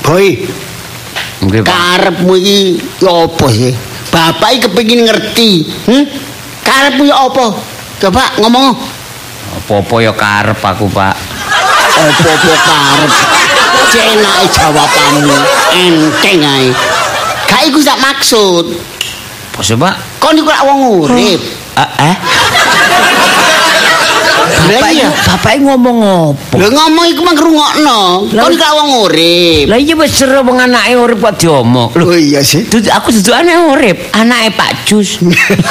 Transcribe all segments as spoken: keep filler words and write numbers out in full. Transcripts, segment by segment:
Boy. Nggih, Pak. Karepmu iki ya apa sih? Bapak iki kepengin ngerti. Hm? Karepmu ya apa? Coba ngomong. Apa-apa ya karep aku, Pak. Apa-apa karep. Cenake jawabanmu enteng ae. Gak iku sak maksud. Apa sih, Pak? Kon iku lak wong urip. Eh? eh? Bapak iya. Bapak ngomong apa? Lha ngomong iku mah ngrungokno. Kon iku lak wong urip. Lah iya wis seru wong anake urip kok diomong. Oh iya sih. Dudu aku dudukane urip, anake Pak Jus.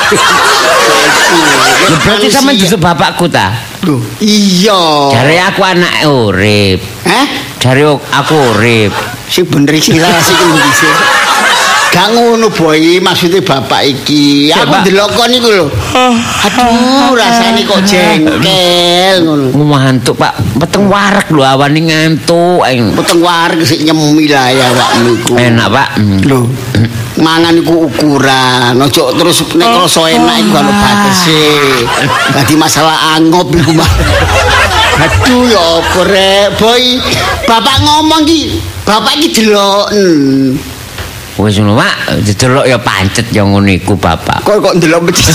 Lha berarti sampean duduk bapakku ta? Loh, iya. Jare aku anake urip. Hah? Jare aku urip. Sing bener iki lah sing ndi sih. Gak ngono boy, maksudnya bapak iki. Aku ndelok kon iku lho. Aduh, rasane kok jengkel ngono. Ngantuk, Pak. Peteng wareg lho awane ngantuk. Peteng wareg sik nyemi lah ya awakmu iku. Enak, Pak. Lho. Mangan iku ukuran. Ojo terus nek rasa enak iku ono batese. Dadi masalah angop iku mah. Aduh ya apa rek, boy. Bapak ngomong iki, bapak iki deloken. Wis ngono, Pak. Didelok ya pancet ya ngono iku, Bapak. Kok kok ndelok becik.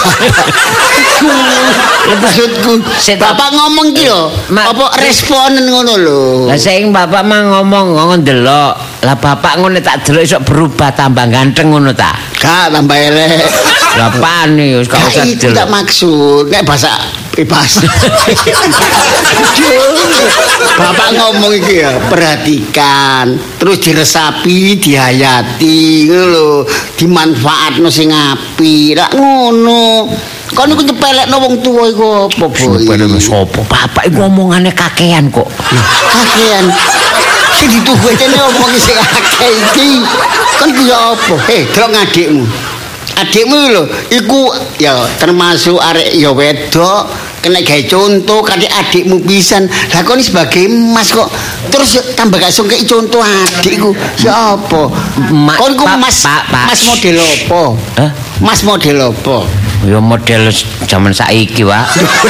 Maksudku, Bapak ngomong ki lho, apa responen ngono lho. Lah sing Bapak mah ngomong ngono ndelok. Lah Bapak ngono tak delok iso berubah tambah ganteng ngono ta? Gak tambah elek. Lah pane wis gak usah delok. delok. Tak maksud, nek bahasa bebas. Bapak ngomong iki ya, perhatikan, terus diresapi, dihayati ngono lho, dimanfaatno sing apik. Lah ngono. Kon iku nyepelekno wong tuwa iku apa, Boy? Nyepelekno sapa? Bapak iku omongane kakean kok. Kakean. Sing dituwetene omong sing akeh iki. Kon ku ya apa? Heh, delok ngadikmu. Adikmu lho, iku ya termasuk arek ya wedok, kena gawe contoh kali adikmu pisan. Lah kon sebagai mas kok terus tambah gak iso kei contoh adikku. Ya apa? Kon ku mas mas model apa? Hah? Mas model apa? Ya model zaman saiki, Pak.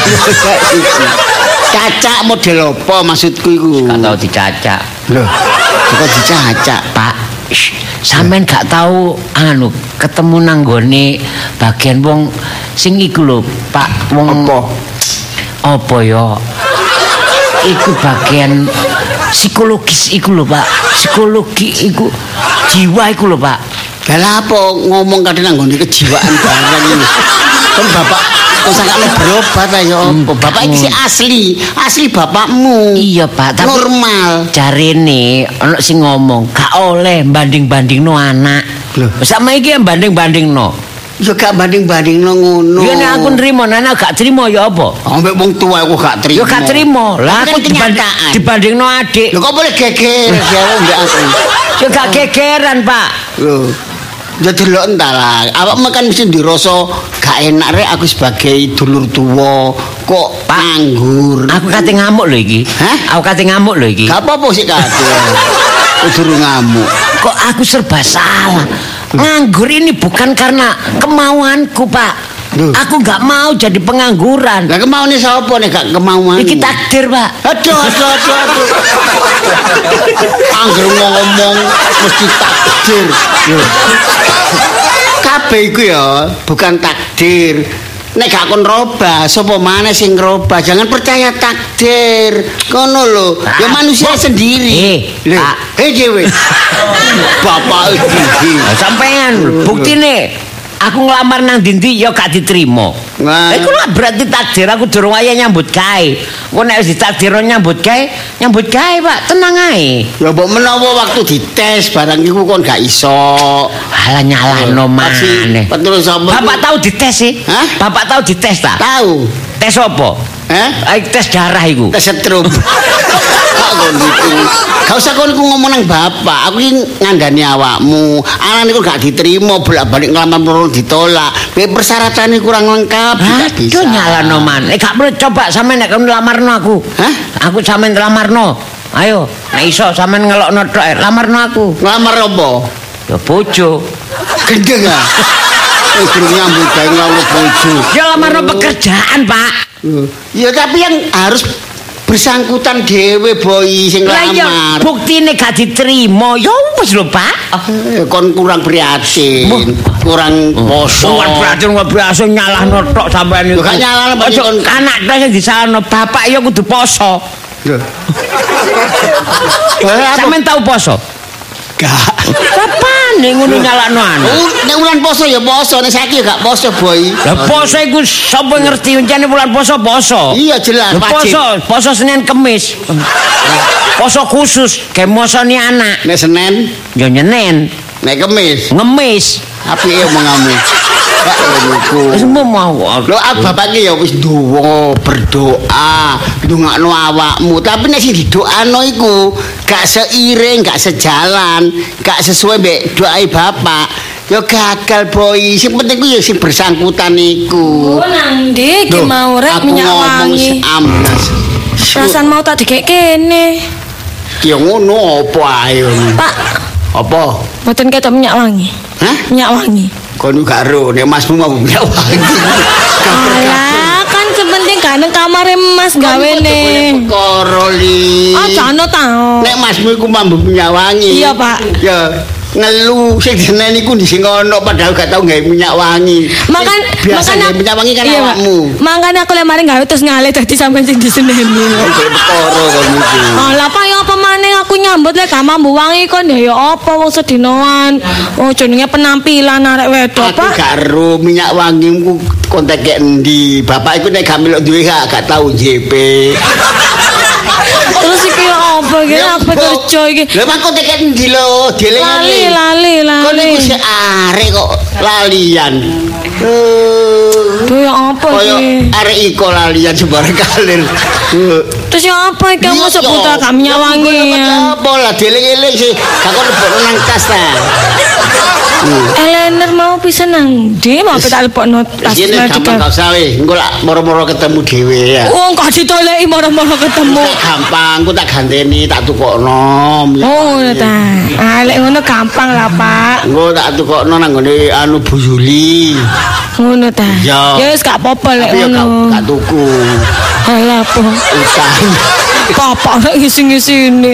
Cacak model apa maksudku iku? Gak tau dicacak. Loh, kok dicacak, Pak? Sampean gak tahu anu ketemu nang gone bagian wong sing iku lho, Pak. Wong apa? Apa ya? Iku bagian psikologis iku lho, Pak. Psikologi iku jiwa iku lho, Pak. Lah apa ngomong kadang nang nggone kejiwaan barang iki. Kan bapak kok sakane berobat ayo. Bapak iki asli, asli bapakmu. Iya, Pak, tapi normal. Jarene ana sing ngomong gak oleh banding-bandingno anak. Lho, sama iki banding-bandingno. Ya gak banding-bandingno ngono. Ya nek aku nrimo, nek gak trimo ya apa? Ambek wong tuwa aku gak trimo. Ya gak trimo. Lah aku dibanding, dibandingno adik. Lho kok boleh geger ya mbek aku. Ya gak gegeran, Pak. Lho. Ya delok entar lah. Awakmu kan mesti dirasa gak enak rek aku sebagai dulur tuwa kok nganggur. Aku kate ngamuk lho iki. Hah? Aku kate ngamuk lho iki. Gak apa-apa sih kate. Kudu ngamuk. Kok aku serba salah. Nganggur ini bukan karena kemauanku, Pak. Duh. Aku gak mau jadi pengangguran. Lah kemauane sapa nek gak kemauan? Iki takdir, Pak. Aduh, aduh, aduh, aduh. Angger ngomong mesti takdir. Kabeh iku ya bukan takdir. Nek gak kon robah, sapa maneh sing ngrobah? Jangan percaya takdir. Ngono lho. Ya manusia sendiri. Eh, hei dhewe. Bapak iki. Sampean buktine aku ngelamar nang dindi ya gak diterima. Nah. Iku lah berarti takdir aku durung waya nyambut gawe. Kok nek wis ditakdirno nyambut gawe, nyambut gawe, Pak, tenang ae. Ya mbok menawa waktu dites barang iku kon gak iso. Alah nyalano maneh. Betul sapa? Bapak tahu dites sih? Hah? Bapak tahu dites ta? Tahu. Tes apa? Hah? Ai tes darah iku. Tes setrum. Kok ngono iki? Gak usah kon iku ngomong nang bapak, aku iki ngandani awakmu. Anane kok gak diterima, bolak-balik ngelamar perlu ditolak. Be persyaratannya kurang lengkap, gak bisa. Aduh nyalano man. Eh gak perlu coba sampean nek kon lamarno aku. Hah? Aku sampean lamarno. Ayo, nek iso sampean ngelokno tok eh, lamarno aku. Ngelamar apa? Ya bojo. Gendeng ah. Wis durung nyambut gawe ngelamar bojo. Ya lamarno pekerjaan, Pak. Ya tapi yang harus bersangkutan dhewe boy sing Lah ya lamar. buktine gak diterima. Ya wis lho, Pak. Eh, kon kurang prihatin, kurang poso. Wong berarti wong biasa nyalahno tok sampean Lho, iku. gak nyalahno, Pak, Ojo kon- anak tok sing disalahno, bapak ya kudu poso. Lho. Eh, apa? Sampeyan tau poso? Gak. Kapan nek ngono nyalahno anak? Oh, nek wulan poso ya poso, nek saiki ya gak poso, boy. Lah poso iku sapa ngerti jane bulan poso poso. Iya jelas, Lah, wajib. poso, poso Senin Kemis. Poso khusus kayak mosoni anak. Nek Senin, Ya nyenen, nek Kemis, ngemis. apike omonganmu? Gak ngono. Wis mau. Lho ah bapak ki ya wis duwa, berdoa, ndongakno awakmu, tapi nek sing didoano iku gak seiring, gak sejalan, gak sesuai mbek doai bapak. Ya gagal boy, sing penting ku ya sing bersangkutan iku. Oh nang ndi ki Loh, mau rek aku minyak ngomong wangi. seamlas. Perasaan mau tak dikek kene. Ya ngono apa ae. Pak, Apa? mboten ketok minyak wangi. Hah? Minyak wangi. Kono gak ro, nek masmu mau minyak wangi. Alah, kan sepenting gak nang kamare Mas gawene. Perkara li. Aja ana ta. Nek masmu iku mambu minyak wangi. Iya, Pak. Ya ngelu sing jeneng iku di sing ono padahal gak tau gawe minyak wangi. Makan Sing biasa gawe minyak wangi kan iya, Pak. awakmu. Makane aku lek mari gawe terus ngalih dadi sampean sing diseneni. Iki perkara kono iki. Alah Pak ya apa maneh aku nyambut lek gak mambu wangi kon ya ya apa wong sedinoan. Oh jenenge penampilan arek wedok, Aku Pak. gak ero minyak wangi ku kontek endi. Bapak iku nek gak melok duwe gak gak tau J P. Terus iki apa iki apa kerja iki? Lha mak kontek endi lho, Lali dieling-eling. lali Kon lali. iku sik arek kok lalian. Eh, Duh ya apa Kaya iki? arek iko lalian sembarang kalir. Eh, Terus ya apa iki kamu iya, sebut iya. gak minyak Ya, wangi iya, ya? Apa lah dieling-eling sih. Gak kon lebokno nang tas ta. Eleanor mau bisa nang ndi mau tak lebokno tas Sini gampang gak usah weh. Engko lak moro-moro ketemu dhewe ya. Wong kok ditoleki moro-moro ketemu. Wis gampang, ku tak ganteni, tak tukokno. Oh ngono ta. Ah lek ngono gampang lah, Pak. Engko tak tukokno nang ngene anu Bu Yuli. Ngono ta. Iya. Ya wis gak apa-apa lek Tapi ya gak ngono. gak tuku. Alah apa? Utang. Papa nek ngisi-ngisini.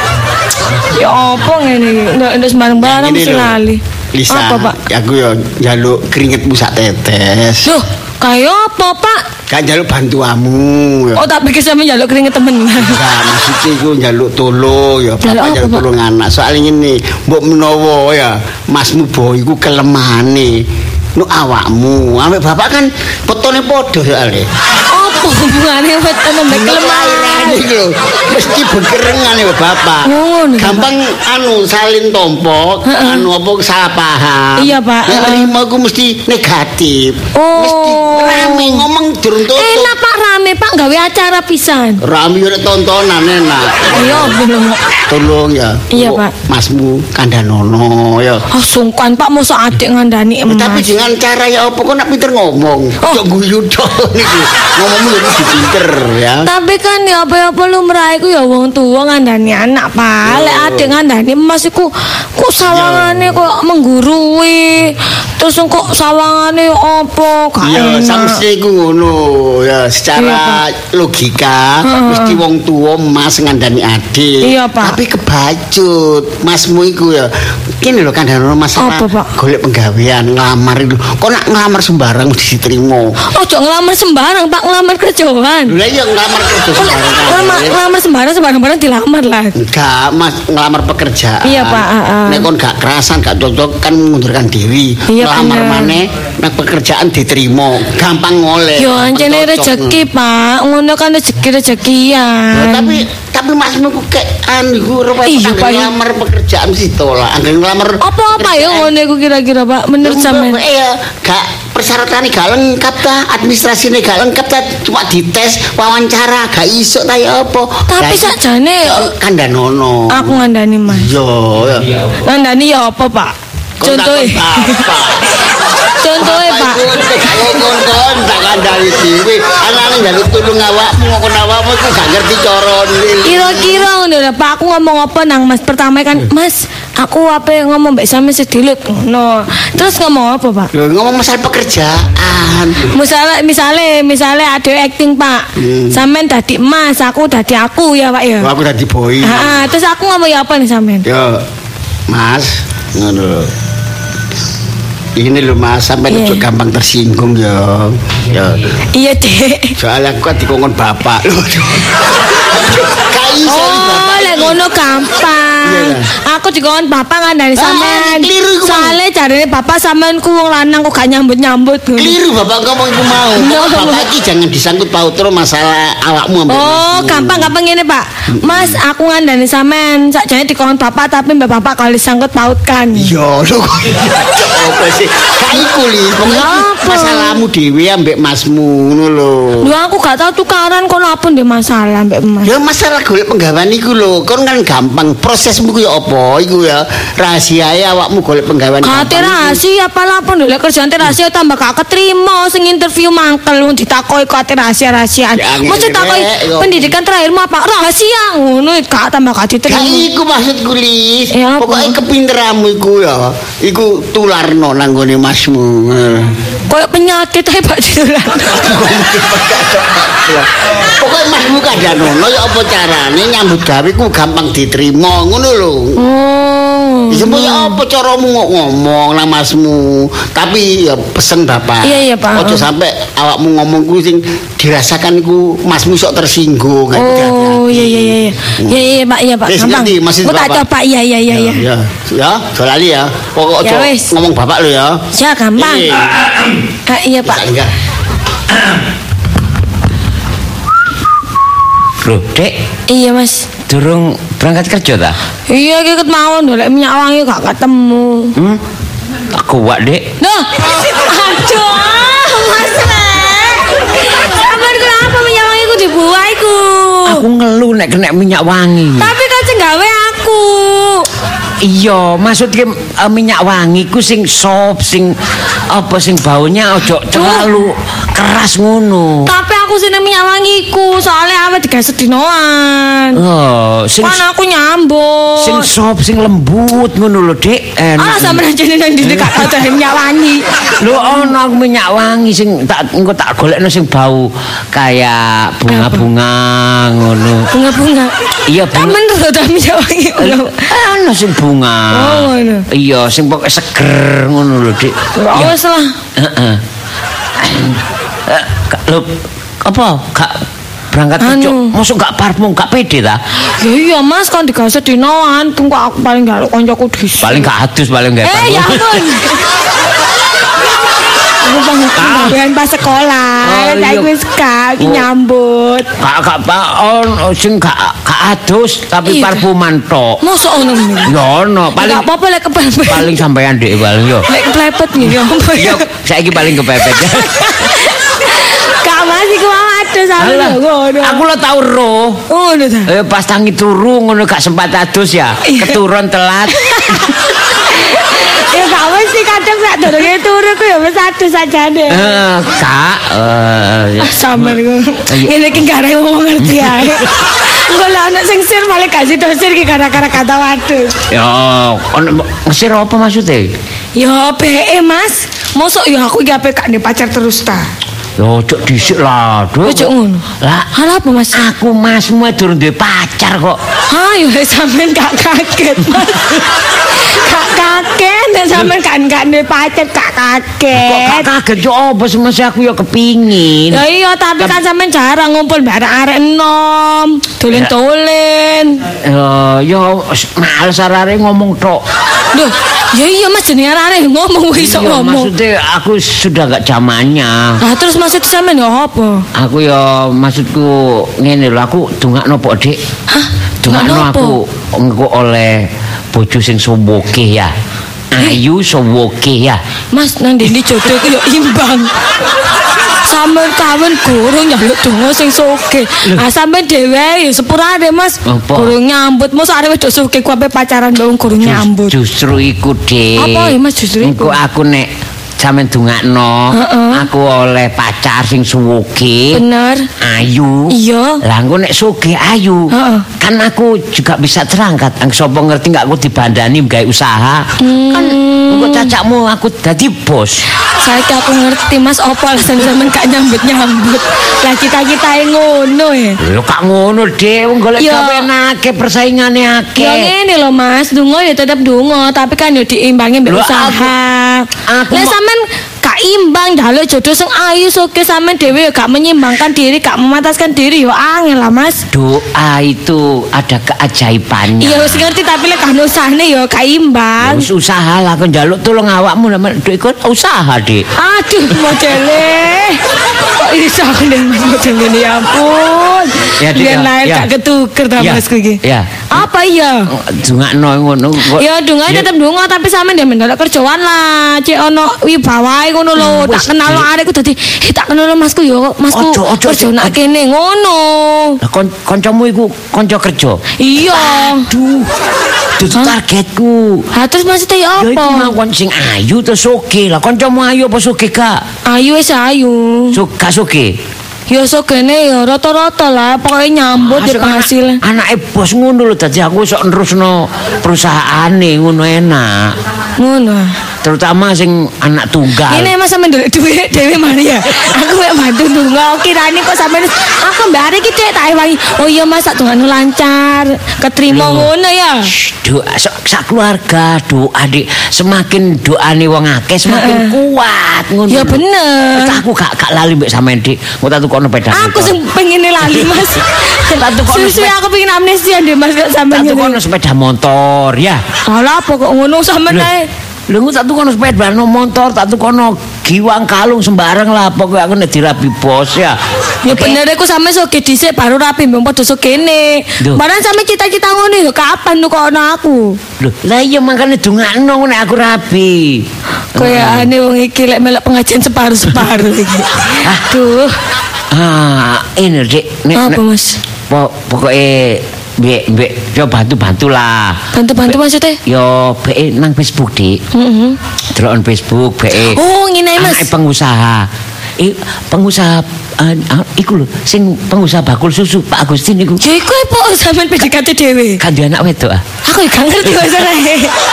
Ya apa ngene iki? Nek nek sembarang-barang Ngene mesti lho. lali. Lisa, Apa, Pak? aku ya njaluk keringetmu sak tetes. Loh, kaya apa, Pak? Kan njaluk bantuamu ya. Oh, tak pikir sampe njaluk keringet temen. Enggak, maksudnya iku njaluk tolong ya, Njaluk bapak apa, njaluk Pak? tolong anak. Soalnya ngene, mbok menawa ya, masmu boy iku kelemahane. Nu awakmu, ambek bapak kan petone padha soalnya. Apa hubungane weton mbek kelemahan? Iki lho, mesti bekerengan ya bapak. Oh, ngono, Gampang anu salin tompo, Heeh. anu apa salah paham. Iya, Pak. Nek Heeh. nerima ku mesti negatif. Oh. Mesti rame ngomong durung tutup. Enak Pak rame Pak gawe acara pisan. Rame yo tontonan enak. Ayo belum. Tolong ya. Iya, Mbok Pak. Masmu kandhanono ya. Oh sungkan Pak mosok adik ngandani emas. Tapi dengan cara ya apa kok nak pinter ngomong. Oh. Ojo guyu tok niku. Ngomongmu jadi pinter ya. Tapi kan ya apa-apa lumrah iku ya wong tuwa ngandani anak Pak. Lek adik ngandani emas iku kok sawangane kok menggurui. Terus kok sawangane apa gak Ya enak. samse iku ngono ya secara logika Heeh. mesti wong tuwa mas ngandani adik. Iya, Pak. Tapi kebacut masmu iku ya. Kene lho kandhanono masalah Apa, Pak? golek penggawean ngelamar itu. Kok nak ngelamar sembarang mesti diterima. Ojo ngelamar sembarang Pak ngelamar kerjaan. Lha iya ngelamar kerja Oh, sembarang. ngelamar, ngelamar sembarang sembarang-sembarang dilamar lah. Enggak, Mas, ngelamar pekerjaan. Iya, Pak, heeh. Nek kon gak kerasan, gak cocok kan mengundurkan diri. Iya, ngelamar bener. maneh, nek pekerjaan diterima, gampang ngoleh. Yo anjene Cocok. rezeki Pak, ngono kan rezeki Ya, rezekian. tapi tapi masmu ku kayak anu ku rupanya Iya, anggen Pak, ya. ngelamar pekerjaan mesti tolak. Anggen ngelamar Apa apa ya ngono iku kira-kira Pak menurut sampean? Iya, gak persyaratannya gak lengkap ta, administrasinya gak lengkap ta, cuma dites wawancara gak iso ta ya apa. Tapi Lah, sakjane kandhanono. aku ngandani Mas. Yo, ya. Ngandani ya apa Pak? Kon Contohe. takon apa? Contohe Pak. Kon tak kandhani dhewe. Anane njaluk tulung awakmu ngokon awakmu iku gak ngerti carane. Kira-kira ngono lho Pak, aku ngomong apa nang Mas pertama kan, Mas, aku ape ngomong mbek sampe sedilut ngono. Terus ngomong apa, Pak? Lho ngomong masalah pekerjaan. Misale misale misale ada acting, Pak. Hmm. Sampean dadi Mas, aku dadi aku ya, Pak ya. Oh, aku dadi boy. Heeh, terus aku ngomong ya apa nih sampean? Yo, Mas, ngono. Ini lho Mas, sampai yeah. Itu gampang tersinggung ya. Ya. Iya, Dek. Soalnya aku kan dikongkon bapak. Kai oh, lek ngono gampang. Yeah. Aku dikongkon bapak ngandani sampean. Ah, soalnya jarene bapak sampean ku wong lanang kok gak nyambut-nyambut. Keliru bapak ngomong iku mau. No. Bapak iki jangan disangkut paut terus masalah awakmu ambek. Oh, gampang-gampang ngene, Pak. Mas, aku ngandani sampean sakjane dikongkon bapak tapi mbak bapak kalau disangkut pautkan. Iya, lho. Apa sih? Gak iku li, masalahmu dhewe ambek masmu ngono lho. Lho aku gak tau tukaran kok apa ndek masalah ambek Mas. Ya masalah golek penggawean iku lho. Kon kan gampang, prosesmu ku ya apa iku ya. Rahasiae awakmu golek penggawean. Kate rahasia apa apa lek kerjaan rahasia tambah gak keterima sing interview mangkel wong ditakoki kok rahasia-rahasiaan. Mesti takoki pendidikan terakhirmu apa? Rahasia ngono gak tambah gak diterima. Gak iku maksudku li. Pokoke kepinteranmu iku ya. Iku tularno nang gone masmu. Kayak penyakit ae Pak Dilan. Pokoke masmu kadanono ya apa carane nyambut gawe ku gampang diterima ngono lho. Oh. Disebut ya apa caramu ngomong nang masmu. Tapi ya pesen Bapak. Iya iya Pak. Ojo sampai awakmu ngomong ku sing dirasakan iku masmu sok tersinggung. Oh iya iya iya. Iya iya Pak, iya Pak. Gampang. Aku tak coba iya iya iya iya. Ya, ya, dolali ya. Pokok ojo ngomong Bapak lho ya. Ya gampang. Ah, iya Pak. Enggak. Loh, Dek. Iya, Mas. Durung berangkat kerja ta? Iya, iki ket mawon golek minyak wangi gak ketemu. Hmm. Aku wak, Dek. Nah. Aduh, Mas. Sabar kenapa minyak wangi ku dibuah iku? Aku ngeluh nek kena minyak wangi. Tapi kan sing gawe aku. Iya, maksudnya uh, minyak wangi ku sing sop, sing apa sing baunya ojo terlalu keras ngono. Tapi aku seneng minyak wangiku, soalnya awet digawe sedinoan. Oh, sing kan aku nyambut. Sing sop, sing lembut ngono lho, Dik. Ah, sampeyan jane nang ndi gak ada minyak wangi. Lho ono minyak wangi sing tak engko tak golekno sing bau kayak bunga-bunga ngono. Bunga-bunga. Iya, bunga. Tamen rada minyak wangi. Ono sing bunga. Oh, ngono. Iya, sing pokoke seger ngono lho, Dik. Ya wis lah. Heeh. Lho, apa? Gak berangkat kerja. Mosok gak parfum, gak pede ta? Ya iya, Mas, kan digawe sedinoan, tunggu aku paling gak koncoku dhisik. Paling gak adus, paling gak parfum. Eh, ya ampun. Aku pengen pas sekolah, saya wis gak nyambut. Kak kak Pak on sing gak gak adus tapi parfuman tok. Mosok ono ngene. Ya ono, paling gak apa-apa lek kepepet. Paling sampean Dik paling yo. Lek kepepet nih yo. Yo, saiki paling kepepet. Kak Mas iku adus ngono. Aku lo tau roh. Ngono ta. Eh pas tangi turu ngono gak sempat adus ya. Keturun telat. Ya gak mesti kadang sak durunge turu ku ya wis adus sajane. Eh, Kak, eh sampeyan ngono. Ngene iki gak arep wong ngerti ae. Engko lek ana sing sir malah kasih dosir iki gara-gara kata wadus. Ya, ono ngesir apa maksudnya? Ya B E Mas. Mosok ya aku iki ape gak ndek pacar terus ta. Yo cok dhisik lah, Duk. Cok ngono. Lah, hal apa Mas? Aku Masmu durung duwe pacar kok. Ha, yo sampean gak kaget, Mas. Gak kaget, nek sampean kan gak duwe pacar gak kaget. Kok gak kaget yo apa semese aku yo kepingin. Ya iya, tapi kan sampean jarang ngumpul bareng arek enom, dolen-dolen. Yo yo males arek ngomong tok. Loh, ya iya Mas jenenge arek ngomong iso ngomong. Maksudnya aku sudah gak zamannya. Lah terus maksud sampean yo apa? Aku yo maksudku ngene lho, aku dongakno pok Dik. Hah? Dongakno aku engko oleh bojo sing sowoke ya. Ayu sowoke ya. Mas nang dene jodoh ku yo imbang. Sampeyan kawen gurung nyaluk donga sing soge. Ah sampeyan dhewe ya sepurane Mas. Gurung nyambut mosok arep wedok soge ku ape pacaran mbek wong gurung nyambut. Justru iku, Dik. Apa ya Mas justru iku? Engko aku nek sampean dungakno aku oleh pacar sing suwuge. Bener. Ayu. Iya. Lah engko nek sugih ayu, Heeh. kan aku juga bisa terangkat. Ang sapa ngerti gak aku dibandani gawe usaha. Hmm. Kan engko cacakmu aku dadi bos. Saiki aku ngerti Mas opo alasan sampean gak nyambut-nyambut. Lah kita-kita ngono ya. Lho kak ngono, Dik. Wong golek Ya. gawean akeh, persaingane Ya akeh. ngene lho Mas, donga ya tetep donga, tapi kan ya diimbangi mbek Lho, usaha. aku Lah mau- sampean gak imbang njaluk jodoh sing ayu soke sampean dhewe ya gak menyimbangkan diri, gak memataskan diri ya angel lah Mas. Doa itu ada keajaibannya. Iya wis ngerti tapi lek kan usahane ya gak imbang. Wis usaha lah kon njaluk tulung awakmu lah Dik iku usaha, Dik. Aduh modele. Kok iso aku ning Mas model ngene ya ampun. Ya, Dik, Biar ya, lahir ya. gak ketuker ta Ya, Mas iki. ya. Apa iya? Dungakno ngono. kok- Ya donga Ya, tetep donga tapi sampean dia mendadak kerjaan lah. Cek ono wibawae ngono lho. Hmm, Tak wis, kenal Dik. arekku dadi eh tak kenal Masku yo. Masku Ojo, ojo, kerja Dik. nak kene ngono. Lah kon kancamu iku kanca kerja. Iya. Aduh. Dudu targetku. Ha terus maksudnya ya Ya iku mau apa? kon sing ayu terus sugih. Lah kancamu ayu apa sugih gak? Ayu wis ayu. Sug gak sugih. Ya sogene ya rata-rata lah pokoknya nyambut Ah, ya sing anak- penghasilan. Anake bos ngono lho dadi aku sok nerusno perusahaane ngono enak. Ngono. Terutama sing anak tunggal. Ini mas sampe ndelok duit Dewi Maria. Aku mek bantu donga kirane kok sampean aku mbak iki Dek tak ewangi. Oh iya Mas tak dongane lancar. Ketrima ngono ya. Shh, doa sak sak keluarga doa Dik, semakin doane wong akeh semakin kuat ngono. Ya lho. bener. Terus aku gak gak lali mbek sampean Dik. Mau tak tukono sepeda Aku sing pengen lali Mas. Tak tukono Susu sepeda. aku pengen amnesia deh Mas kok sampean Tak tukono ngene. sepeda motor ya. Alah apa kok ngono sampean ae. Lho engko tak tukono sepeda motor, tak tukono giwang kalung sembarang lah pokoknya aku nek dirapi bos ya. Ya Oke? bener iku sampe soge dhisik baru rapi mbok padha sogene. Duh. Barang sampe cita-cita ngono ya kapan tuh kok ana aku. Lho, lah iya makane dongakno nek aku rapi. Kayak ane wong iki lek melok pengajian separuh-separuh iki. Aduh. Ah, ini Dik, nek Apa nek- Mas? po, pokoknya mbek mbek yo bantu-bantu lah. Bantu-bantu maksudnya? Yo be nang Facebook Dik. Heeh. Deloken Facebook be. Oh, ngene Mas. Anake pengusaha. I, pengusaha uh, uh, iku lho sing pengusaha bakul susu Pak Agustin iku. Ya iku apa sampean P D K T dhewe? Kan dia anak wedok ah. Aku ya gak ngerti masalahnya.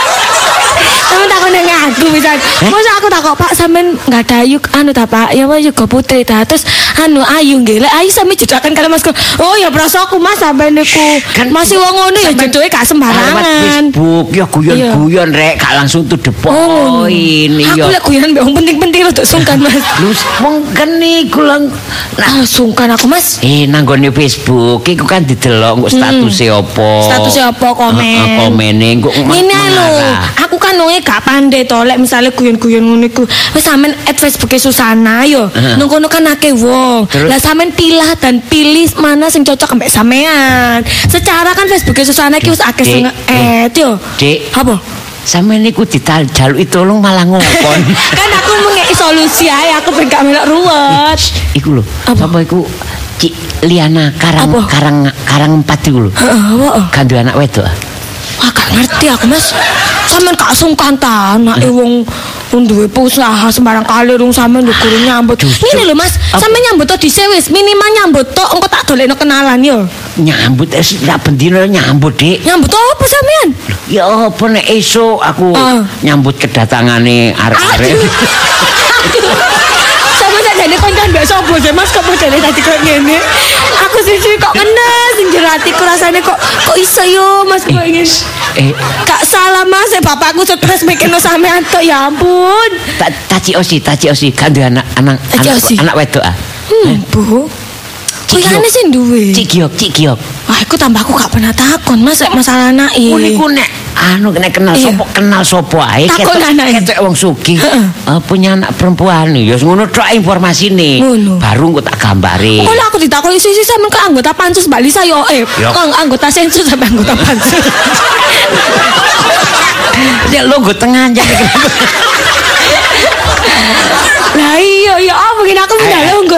Sampeyan takon nang aku pisan. Masa aku takok Pak sampean enggak ada ayu anu ta Pak? Ya apa juga putri ta. Terus anu ayu nggih. Lek ayu sampe jedakan karo Mas. Oh ya prasaku Mas sampean niku. Kan- Masih wong ngono ya sampean- jodohe gak Lewat sembarangan. Facebook ya guyon-guyon rek gak langsung to the Oh, point aku yo. lek guyon mbek wong penting-penting rada sungkan Mas. Lu wong kan niku lang nah Ah, sungkan aku Mas. eh nanggone Facebook iku kan didelok kok statuse apa. Statusnya apa, komen. Heeh, komene kok Ini lho, aku kan wonge gak pandai to lek misale guyon-guyon ngono iku. Wis sampean add Facebook Susana yo. Heeh. Nang kono kan akeh wong. Terus? Lah sampean pilah dan pilih mana sing cocok ambek sampean. Secara kan Facebook Susana iki wis akeh Dik, sing add yo. Dik. Apa? Sampe niku dijaluki tolong malah ngokon. Kan aku mengeki solusi ae aku ben gak melok ruwet. Iku lho, Apa? sapa iku Cik Liana Karang Apa? Karang Karang empat iku lho. Heeh, apa? Kan duwe anak wedok. Wah, gak ngerti aku Mas. Sampeyan gak sungkan ta anake wong wong duwe usaha sembarang kali rung sampeyan lho guru nyambut. Justru- Ngene lho Mas, Apa? sampeyan nyambut to dhisik wis minimal nyambut tok engko tak dolekno kenalan yo. Nyambut es sak bendino nyambut, Dik. Nyambut apa sampeyan? Ya apa nek esuk aku Ah. nyambut kedatangane arek-arek. Sama tak jadi koncan mbak sopo sih Mas kok modele tadi kok ngene. Aku siji kok kena sing jero atiku rasane kok kok iso yo Mas kok ngene. Eh, Kak salah Mas, eh, bapakku stres mikirno sampean tok ya ampun. tak taci osi, taci osi kan duwe anak anak Taci anak, osi? anak wedok ah. Hmm, Bu. Cik Kuyane Giok. sing duwe. Cik Giok, Cik Giok. Wah, aku tambah aku gak pernah takon Mas lek masalah anake. Oh niku nek anu nek kenal Iya. sapa kenal sapa ae Takon anake. ketok wong sugih. Heeh. Eh, punya anak perempuan ya ngono tok informasine. Ngono. Baru engko tak gambare. Kalau aku ditakoni sisi sampean ke anggota pansus Mbak Lisa yo eh Yo. kok anggota sensus sampai anggota pansus. Ya lo nggo tengah aja. Lah iya ya apa gini aku pindah longgo ta.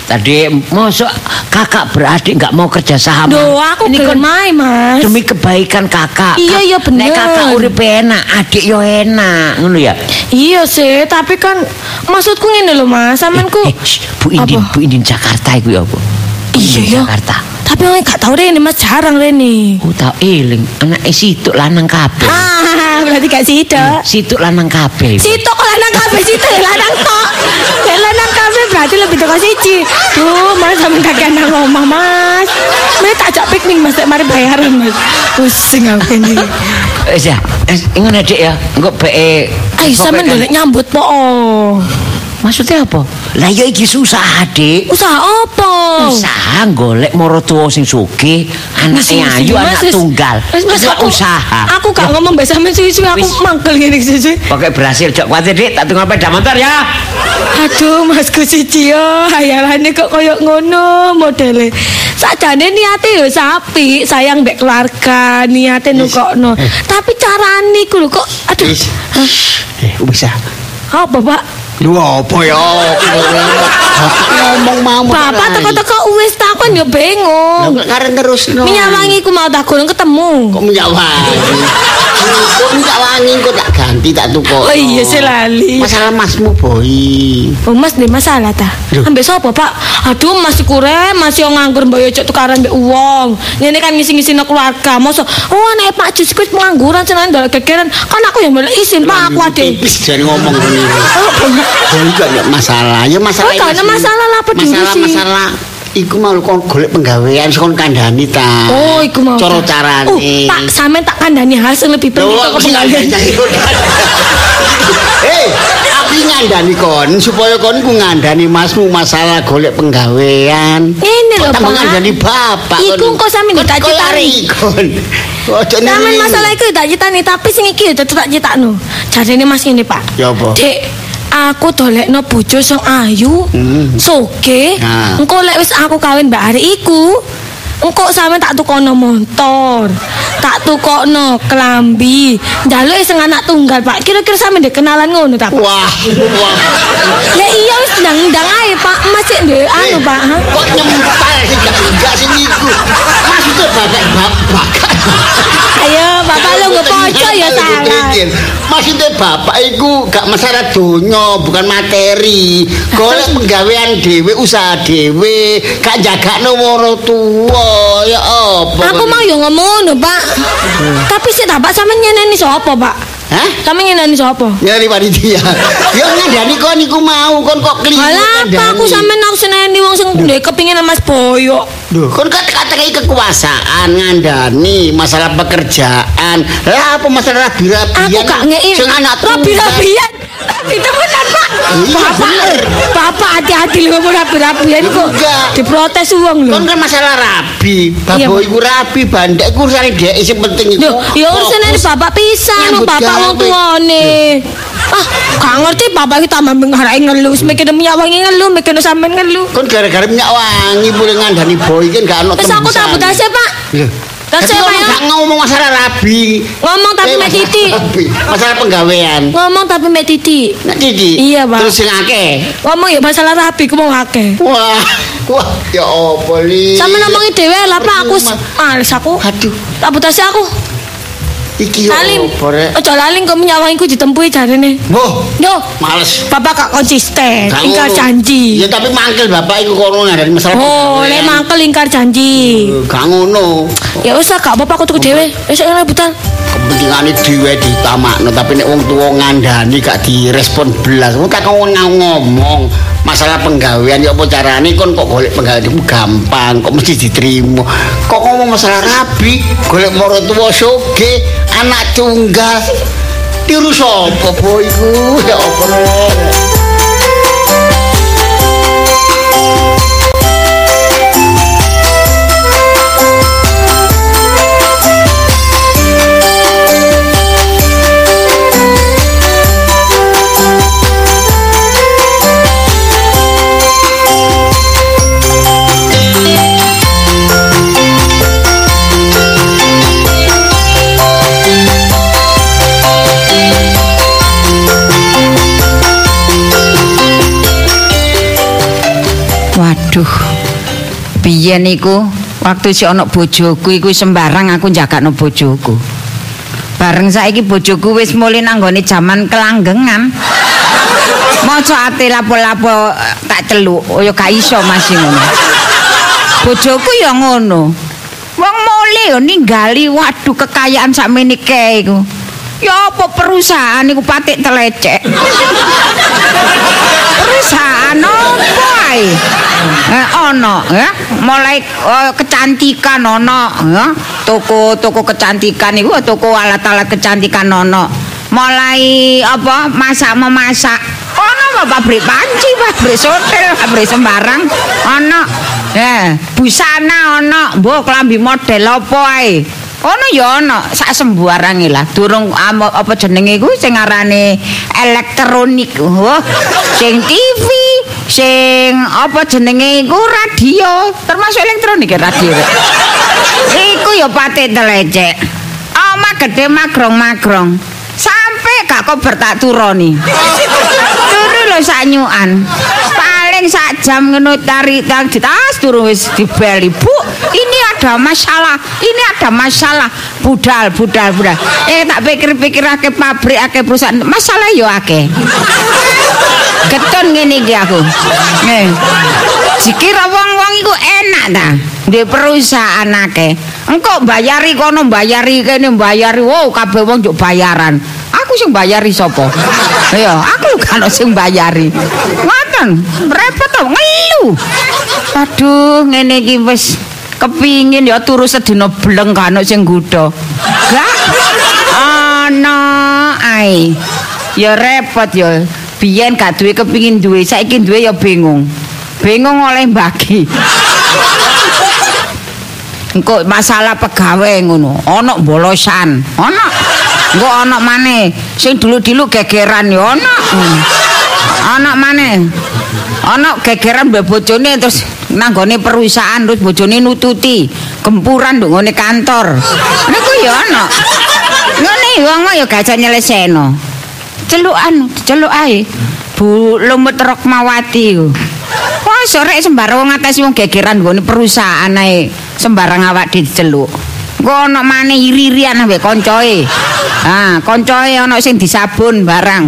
tadi mosok kakak beradik nggak mau kerja sama. Duh, aku gelem ae, Mas. Demi kebaikan kakak. Iya, iya bener. Nek kakak urip enak, adik yo enak, ngono ya. Iya sih, tapi kan maksudku ngene lho, Mas. Sampeanku eh, eh, Bu Indin, apa? Bu Indin Jakarta iku ya apa? Iya, iya. Jakarta. Tapi orang gak tau Rene, Mas, jarang Rene. Oh, tau eling, anake situk lanang kabeh. Ah, berarti gak sitok. Situk lanang kabeh. Sitok kok lanang kabeh, sitok ya lanang tok. Ya lanang kabeh berarti lebih teko siji. Duh, Mas sampe kakek nang omah, Mas. Mas tak ajak piknik, Mas, nek mari bayaran, Mas. Pusing aku ini. Wis ya, wis ngono Dik ya. Engko beke Ayo sampean golek nyambut po. Maksudnya apa? Lah ya iki susah, Dik. Usaha apa? Usaha golek maratuwa sing sugih, anake ayu, anak tunggal. Wis Mas, aku usaha. Aku gak ngomong mbek sampean suwi-suwi, aku mangkel ngene suwi-suwi. Pokoke berhasil jok kuwatir Dik, tak tunggu sepeda motor ya. Aduh, Masku siji yo, hayalane kok koyo ngono modele. Sakjane niate yo sapi, sayang mbek keluarga, niate nukokno. Tapi carane iku lho kok aduh. Eh, bisa. Apa, Pak? Lu apa ya? Ngomong mau. Bapak teko-teko wis takon yo bingung. Lah karen terusno. Minyak wangi ku mau tak golong ketemu. Kok minyak wangi? Kok minyak wangi kok tak ganti tak tuku. Oh iya sih lali. Masalah masmu, Boy. Oh Mas ndek masalah ta? Ambek sapa, Pak? Aduh masih kurang, masih nganggur mbok yo cok tukaran mbek wong. Ngene kan ngisi-ngisino keluarga. Mosok oh anak Pak Jus kuwi pengangguran seneng ndolek gegeran. Kan aku yang boleh izin Pak aku ade. Wis jan ngomong ngene. Oh enggak enggak masalah. Ya masalah. Oh, gak ada masalah lah peduli sih. Masalah-masalah iku mau kon golek penggawean kon kandhani ta. Oh, iku mau. Cara carane. Oh, tak sampean tak kandhani hasil lebih penting kok penggawean. Hei, aku ngandani kon supaya kon ku ngandani masmu masalah golek penggawean. Ini lho, Pak. Ngandani bapak. Iku kok sampeyan tak citani. Ojo Sampeyan masalah iku tak citani tapi sing iki tetep tak citakno. Jarene Mas ngene, Pak. Ya apa? Dek, aku dolekno bojo sing ayu, Hmm. soge. Nah. Engko lek wis aku kawin mbak Ari iku, engko sampe tak tukono motor, tak tukono klambi. Njaluk sing anak tunggal, Pak. Kira-kira sampe ndek kenalan ngono ta, Pak? Wah, wah. Ya iya wis ndang-ndang ae, Pak. Masih ndek anu, Pak. Ha? Kok nyempal sih gak enggak sing iku. Maksudnya bapak-bapak. Ayo, Bapak lu ngepoco ya salah. Maksudnya bapak iku gak masalah donya, bukan materi. Golek penggawean dhewe, usaha dhewe, gak jagakno wong tuwa. Ya apa? Aku mau yo ngomong ngono, Pak. Tapi sik tak Pak sampe nyeneni sapa, Pak? Hah? Sampe nyeneni sapa? Nyari panitia. Ya ngandani kon iku mau, kon kok keliru. Halah, apa aku sampe nak seneni wong sing ndek kepingin Mas Boyo. Duh, kon kan katakai kekuasaan ngandani masalah pekerjaan. Lah apa masalah rabi-rabian? Aku gak ngei. Sing anak rabi-rabian. Ditemenan, Pak. Iya, Bapak, bener. Bapak hati-hati lho ngomong rabi-rabian kok. Enggak. Diprotes wong lho. Kon kan masalah rabi. Iya, Babo Pak. iku rabi, bandek iku urusane dhek sing penting iku. Lho, ya urusane fokus bapak pisan, nyambut bapak wong gawe. tuane. Ah, gak ngerti bapak iki tambah ngarep ngeluh, mikir minyak wangi ngeluh, mikir sampean ngeluh. Kon gara-gara minyak wangi boleh ngandani boy kan gak ono Wis aku tak butase, Pak. Lho. Tas Tapi saya, kon Pak, ya. gak ngomong masalah rabi. Ngomong tapi Eh, mek masalah titik. rabi. Masalah penggawean. Ngomong tapi mek titik. Nak titik. Iya, Pak. Terus sing akeh. Ngomong ya masalah rabi ku mau akeh. Wah, wah, ya apa li? Sama ngomongi dhewe lah, Pak. Aku s- males aku. Aduh, Tak butase aku. iki ya Lalim. apa rek? Ojo laling kok minyak wangiku ditempuhi jarene. Boh, Yo, males. bapak gak konsisten, Gak ingkar ngono. janji. Ya tapi mangkel bapak iku kono ngandani masalah. Oh, lek mangkel ingkar janji. Eh, Gak ngono. Ya wis lah, gak apa-apa aku tuku dhewe. Wis ora rebutan. Kepentingane dhewe ditamakno tapi nek wong tuwa ngandani gak direspon belas. Wong tak ngomong masalah penggawean ya apa carane kon kok golek penggawean iku gampang kok mesti diterima. Kok ngomong masalah rabi, golek maratuwa soge, anak tunggal. Tiru sapa boy iku? Ya apa rek? Aduh. Biyen iku waktu si ana bojoku iku sembarang aku njagakno bojoku. Bareng saiki bojoku wis mulih nanggone jaman kelanggengan. Maca ati lapo-lapo tak celuk, ya gak iso masih ngono. Bojoku ya ngono. Wong mulih ya ninggali waduh kekayaan sakmene kae iku. Ya apa perusahaan iku patik telecek. Perusahaan apa ae? Eh ono ya, mulai oh, kecantikan ono ya. Toko-toko kecantikan iku toko alat-alat kecantikan ono. Mulai apa masak memasak. Ono pabrik panci, pabrik hotel, pabrik sembarang ono. Eh, busana ono, mbok klambi model apa ae. Ono ya ono sak sembarange lah. Durung apa jenenge iku sing arane elektronik. Wah, sing T V, sing apa jenenge iku radio, termasuk elektronik ya radio. Iku ya patik telecek. Oma gede magrong-magrong. Sampai gak kober tak turoni. Turu lho sak nyukan. Paling sak jam ngono tarik tang ditas turun wis dibeli. Bu, ini ada masalah. Ini ada masalah. Budal, budal, budal. Eh tak pikir-pikir akeh pabrik, akeh perusahaan. Masalah yo akeh. Keton ngene iki aku. Nggih. Dikira wong-wong iku enak ta. Di perusahaan akeh. Engko bayari kono, bayari kene, bayari. Wow, kabeh wong njuk bayaran. Aku sing bayari sapa? Ya, aku kan sing bayari. Ngoten, repot to ngelu. Aduh, ngene iki wis kepingin ya turu sedina bleng kan sing nggodha. Gak ana ae. Ya repot ya. Biyen gak duwe kepingin duwe, saiki duwe ya bingung. Bingung oleh bagi. Engko masalah pegawai ngono, ana bolosan, ana. Engko ana maneh sing dulu-dulu gegeran ya ana. Ana maneh. Ana gegeran mbek bojone terus nanggone perusahaan terus bojone nututi, gempuran nduk ngene kantor. Niku ya ana. Ngene wong ya gak nyelesekno. Celukan, celuk ae. Bu Lumut Rokmawati ku. Wah, sore sembarang ngatasi wong gegeran nggone perusahaan ae. Sembarang awak diceluk. Engko ana maneh iri-irian ambek koncoe. Ah, koncoe ana sing disabun barang.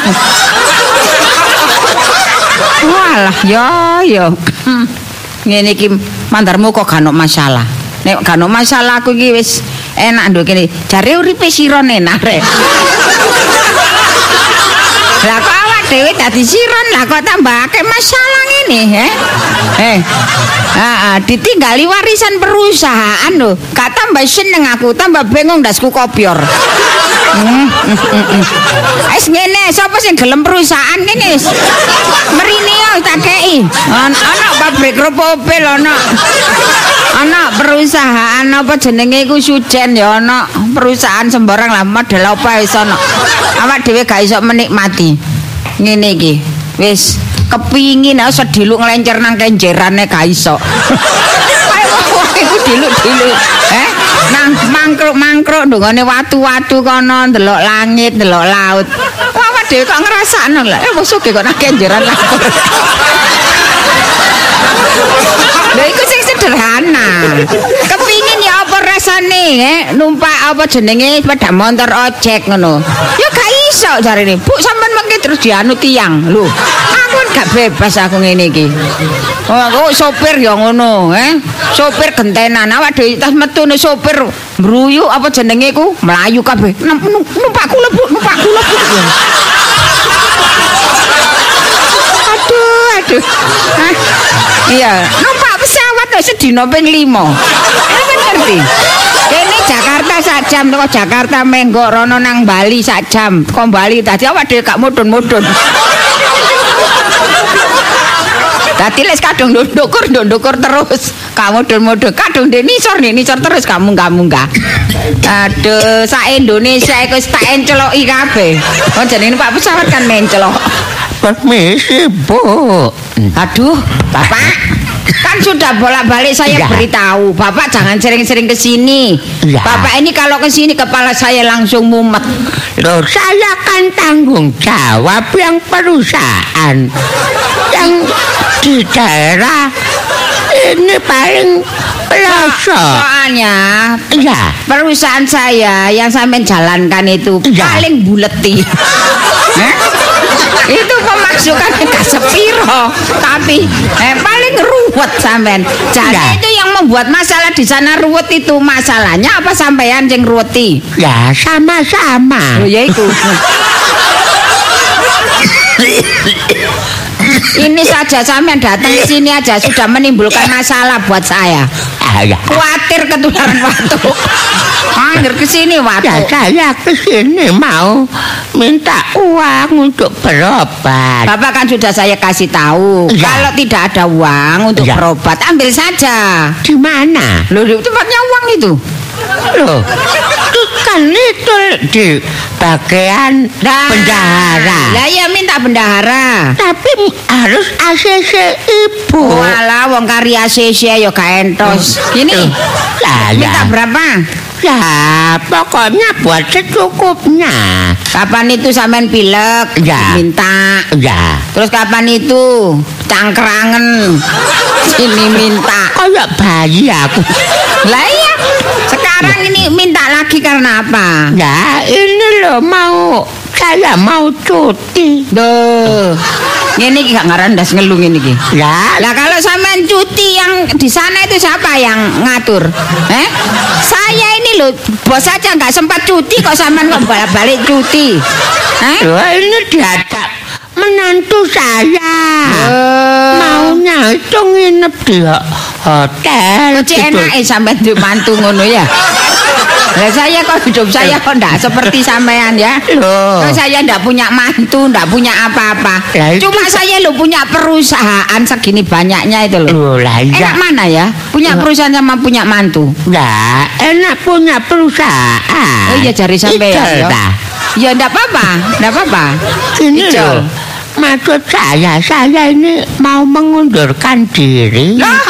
Walah, yo yo. Ngene iki mandarmu kok gak ono masalah. Nek gak ono masalah aku iki wis enak nduk kene. Jare uripe siron enak rek. Lah kok awak dhewe dadi siron lah kok tambahake masalah ngene, he? Eh. Heeh, ditinggali warisan perusahaan lho. Gak tambah seneng aku, tambah bingung ndasku kopior. Hmm. Wis ngene, sapa sing gelem perusahaan kene wis. Mrene yo tak kei. Ana pabrik Ropopel ana. Ana perusahaan apa jenenge iku Sujen ya ana. Perusahaan sembarang lah model apa wis ana. Awak dhewe gak iso menikmati. Ngene iki. Wis kepingin aku sediluk nglencer nang kenjerane gak iso. Ayo iku diluk-diluk. Eh, nang mangkruk-mangkruk ndongone watu-watu kono ndelok langit, ndelok laut. Awak dhewe kok ngrasakno lho. Eh wis kok nang kenjeran lah. Lha iku sing sederhana. Kepingin ya apa rasane, eh? Numpak apa jenenge sepeda motor ojek ngono. Ya gak iso jarene. Bu sampean mengke terus dianu tiang. Lho, aku gak bebas aku ngene iki. Oh, aku sopir ya ngono, eh? Sopir gentenan. Awak dhewe tas metune sopir mbruyu apa jenenge iku? Melayu kabeh. Numpak kula, Bu, numpak kula, Bu. Aduh, aduh. Hah? Iya, numpak pesawat kok sedina ping lima. Sampeyan ngerti? Kene Jakarta sak jam teko Jakarta Menggok rono nang Bali sak jam. Kok Bali tadi awak dhewe gak mudhun-mudhun. Dadi les kadung ndukur ndukur terus. Kamu mudhun-mudhun, kadung ndek nisor nih nisor terus kamu enggak munggah. Aduh, sak Indonesia iku wis tak enceloki kabeh. Kon jenenge Pak pesawat kan mencelok. Permisi, Bu. Aduh, Bapak. Kan sudah bolak-balik saya ya. Beritahu, Bapak jangan sering-sering ke sini. Ya. Bapak ini kalau ke sini kepala saya langsung mumet. Loh, saya kan tanggung jawab yang perusahaan yang di daerah ini paling pelosok. Soalnya Ya. perusahaan saya yang sampean jalankan itu Ya. paling buleti. Eh? Itu pemasukannya gak sepiro, tapi eh, paling ruwet sampean. Jadi Ya. itu yang membuat masalah di sana ruwet itu masalahnya apa sampean yang ruweti? Ya sama-sama. Oh ya itu. Ini saja sampean datang ke sini aja sudah menimbulkan masalah buat saya. Ah, ya. Khawatir ketularan batuk. Angger ke sini Ya batuk. saya ke sini mau minta uang untuk berobat. Bapak kan sudah saya kasih tahu. Ya. Kalau tidak ada uang untuk Ya. berobat, ambil saja. Di mana? Loh, di tempatnya uang itu. Loh, kan itu di bagian Nah, bendahara. Lah ya minta bendahara. Tapi harus A C C ibu. Walah wong kari A C C ya gak entos. Gini. Lah, Minta ya. berapa? Ya, pokoknya buat secukupnya. Kapan itu sampean pilek? Ya. Minta. Ya, Terus kapan itu cangkrangen? Sini minta. kayak bayi aku. Lah iya. Sekarang ini minta lagi karena apa? Ya, ini loh mau saya mau cuti. Duh. Ini gak ngarandas ngelung ini ki. Ya, Lah kalau sampean cuti yang di sana itu siapa yang ngatur? Eh? Saya ini loh bos aja nggak sempat cuti kok sampean kok balik-balik cuti. Eh? loh, ini diajak menantu saya. Oh. Maunya itu nginep di ho- hotel. Cek gitu. enak eh sampean di mantu ngono ya. Lah saya kok hidup saya kok ndak seperti sampean ya. Loh. Kok saya ndak punya mantu, ndak punya apa-apa. Lah itu Cuma saya lo punya perusahaan segini banyaknya itu loh. Loh, lah Enak iya. mana ya? Punya perusahaan sama punya mantu. Ya, enak punya perusahaan. Oh iya jari sampean Ijol, ya. dah. Ya ndak apa-apa, ndak apa-apa. Ini Ijol. loh, maksud saya, saya ini mau mengundurkan diri. Loh,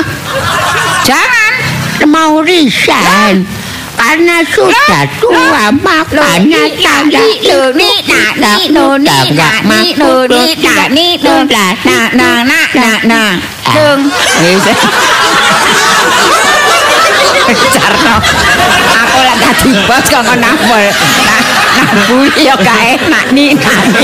jangan. Mau resign. Karena sudah tua, makanya saya lo ni na ni no ni na ni no ni na ni no na na na na na na dong. Carno, aku lagi dadi bos kok nambol. Nah, nambul yo gak enak ni na ni.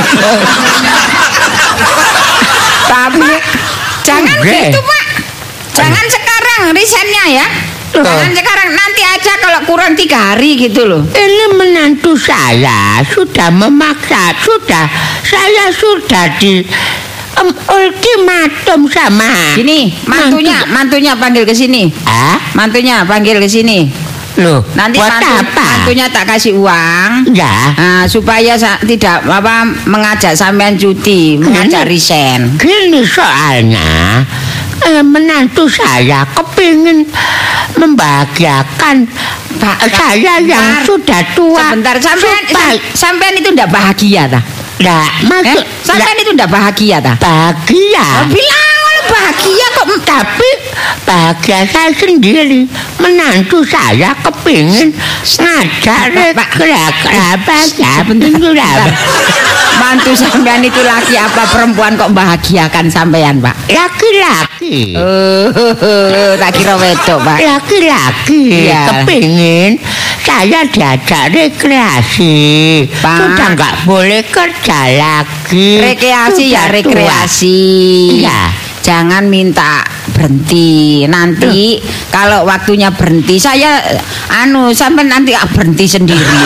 Tapi jangan Oke. gitu Pak. Jangan sekarang risetnya ya. Jangan sekarang, nanti aja kalau kurang tiga hari gitu loh. Ini menantu saya sudah memaksa, sudah saya sudah di em, ultimatum sama. Gini, mantunya, mantunya panggil ke sini. Ah, Mantunya panggil ke sini. loh, Nanti buat mantu, apa? mantunya tak kasih uang. Ya, Nah, supaya sa- tidak apa mengajak sampean cuti, mengajak resign. gini soalnya. Eh, menantu saya kepingin membahagiakan Pak, saya yang Bentar. sudah tua. Sebentar, sampean supaya- sampean itu ndak bahagia ta? Nah, Eh, maksud sampean itu ndak bahagia ta? bahagia. Oh, bilang kalau bahagia kok Tapi bahagia saya sendiri. Menantu saya kepingin ngajak Pak, rekreasi penting juga. mantu sampean itu laki apa perempuan kok bahagiakan sampean, Pak? Laki-laki. Oh, tak kira wedok, Pak. Laki-laki Iya. kepingin saya diajak rekreasi. Pak. Sudah nggak boleh kerja lagi. Rekreasi ya Sudah tua. rekreasi. Iya. Jangan minta berhenti. Nanti kalau waktunya berhenti saya anu sampai nanti ah, berhenti sendiri.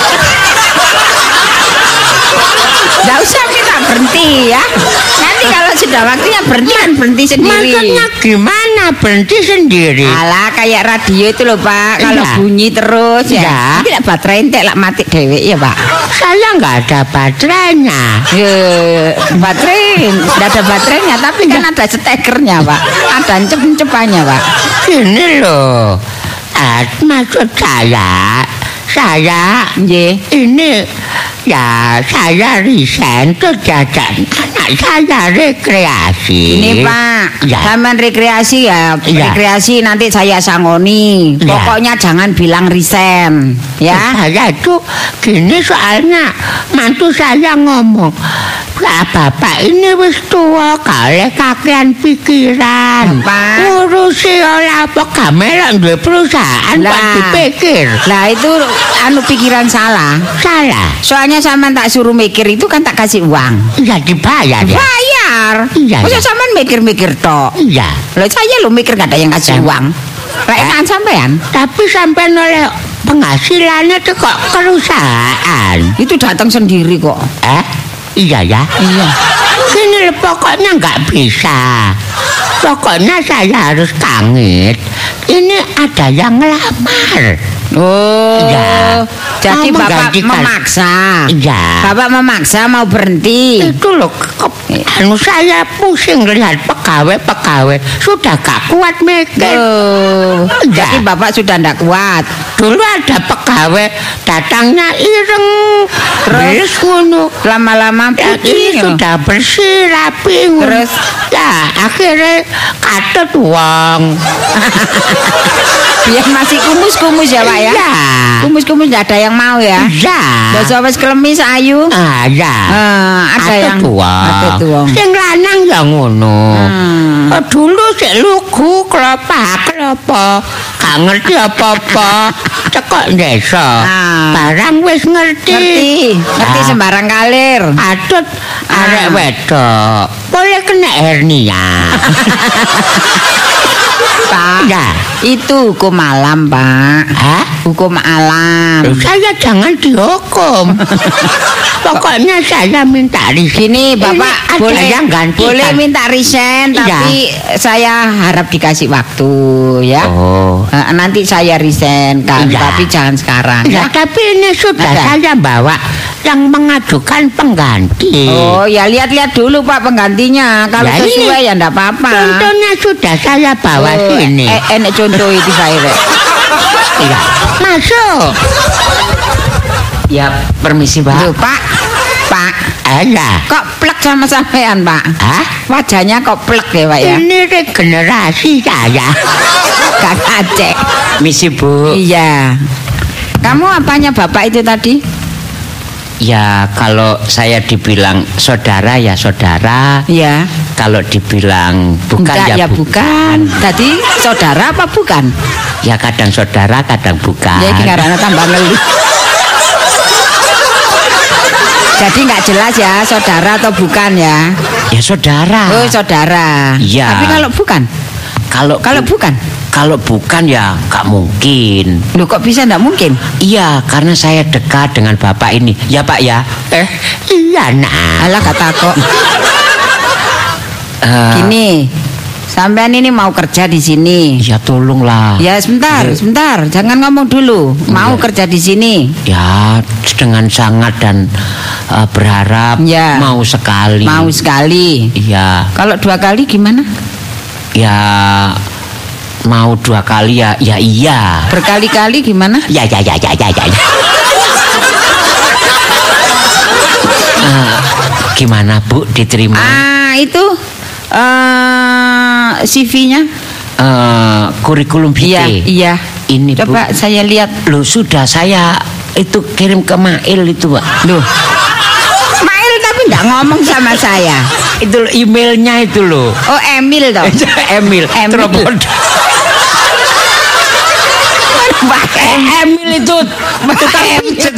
Nggak usah minta berhenti ya. Nanti kalau sudah waktunya berhenti kan berhenti sendiri. Maksudnya gimana berhenti sendiri? Alah kayak radio itu loh Pak. Kalau Iya. bunyi terus ya. Iya. Nanti lah baterai entek lah mati dewek ya Pak. Saya nggak ada baterainya. Ya, baterai, tidak ada baterainya, tapi kan ada stekernya Pak, ada encep-encepannya Pak. Gini loh, ah, maksud saya, saya Nggih. ini ya saya resign terus jajan anak saya rekreasi. Ini Pak, Ya. sampean rekreasi ya, Ya. rekreasi nanti saya sangoni. Ya. Pokoknya jangan bilang resign, ya. Saya itu gini soalnya mantu saya ngomong Lah bapak ini wis tua kalih kakean pikiran. Bapak. Ngurusi ora apa gamelok duwe perusahaan kok Lah. dipikir. Lah itu anu pikiran salah. Salah. Soalnya sampean tak suruh mikir itu kan tak kasih uang. Iya dibayar ya. Bayar. Iya, Masa iya. sampean mikir-mikir tok. Iya. Loh saya lo mikir gak ada yang kasih Sam- uang. Lah enakan sampean. Tapi sampean oleh penghasilannya tuh kok perusahaan. Itu datang sendiri kok. Eh? Iya ya. Iya. Ini loh, pokoknya nggak bisa. Pokoknya saya harus kangen. Ini ada yang ngelamar. Oh. Iya. Jadi Mau Bapak menggantikan. memaksa. Iya. Bapak memaksa mau berhenti. Itu loh, kok, anu saya pusing lihat pegawai-pegawai sudah gak kuat mikir. Oh. Iya. Jadi Bapak sudah ndak kuat. Dulu ada pegawai datangnya ireng, Terus? terus ngono. Lama-lama Ya, putih. ini sudah bersih rapi ngono. Terus? Ya akhirnya katut uang. Biar masih kumus-kumus ya Pak ya. Iya. Kumus-kumus ndak ada yang mau ya. Iya. Dosa wis klemis ayu. Ah ya. Eh, ada yang ada tuang. tuang. Sing lanang ya ngono. Hmm. Oh, dulu sik lugu klopak klopo. Gak ngerti apa-apa. Cekok desa. Ah. Barang wis ngerti. Ngerti, ngerti Ah. sembarang kalir. Atut Ah. arek wedok. Boleh kena hernia. Pak, Ya. itu hukum alam, Pak. Hah? Hukum alam. Saya jangan dihukum. Pokoknya saya minta resign. Gini, Bapak Ini ada boleh yang gantikan. boleh minta resign, Iya. tapi saya harap dikasih waktu ya. Oh. Eh, nanti saya resign kan, Iya. tapi jangan sekarang Ya, ya. tapi ini sudah Ada. saya bawa yang mengajukan pengganti. Oh, ya lihat-lihat dulu Pak penggantinya. Kalau Ya, ini sesuai ya enggak apa-apa. Contohnya sudah saya bawa Oh, sini. eh, enak contoh itu saya. Rek. Iya. Masuk. Ya, permisi, Tuh, Pak. Pak. Pak, Ada. kok plek sama sampean, Pak? Hah? Wajahnya kok plek ya, Pak ya? Ini regenerasi saya. Kakak cek. Misi, Bu. Iya. Kamu apanya Bapak itu tadi? Ya, kalau saya dibilang saudara ya saudara. Iya. Kalau dibilang bukan Enggak, ya, ya bukan. Tadi saudara apa bukan? Ya kadang saudara, kadang bukan. Ya iki karena tambah ngeli. Jadi nggak jelas ya saudara atau bukan ya? Ya saudara. Oh saudara. Iya. Tapi kalau bukan, Kalau kalau bukan, kalau bukan ya nggak mungkin. loh kok bisa nggak mungkin? Iya, karena saya dekat dengan bapak ini. Ya Pak ya. Eh, iya nak. Alah kata kok. Eh, Gini, sampean ini mau kerja di sini. Ya tolonglah. Ya sebentar, sebentar, jangan ngomong dulu. Mau Iya. kerja di sini. Ya dengan sangat dan eh, berharap Ya. mau sekali. Mau sekali. Iya. Kalau dua kali gimana? Ya mau dua kali ya. Ya iya. Berkali-kali gimana? Ya ya ya ya ya ya. ya. Eh, gimana Bu diterima? Ah itu eh C V-nya? Eh, kurikulum Iya, vitae. iya. Ini Coba Bu. saya lihat. Loh sudah saya itu kirim ke Mail itu Pak. Loh. Mail tapi nggak ngomong sama saya. Itu loh, emailnya itu loh. Oh, Emil toh. Emil. Emil. Teropon. Mbak Emil itu tukang Emil. pijet.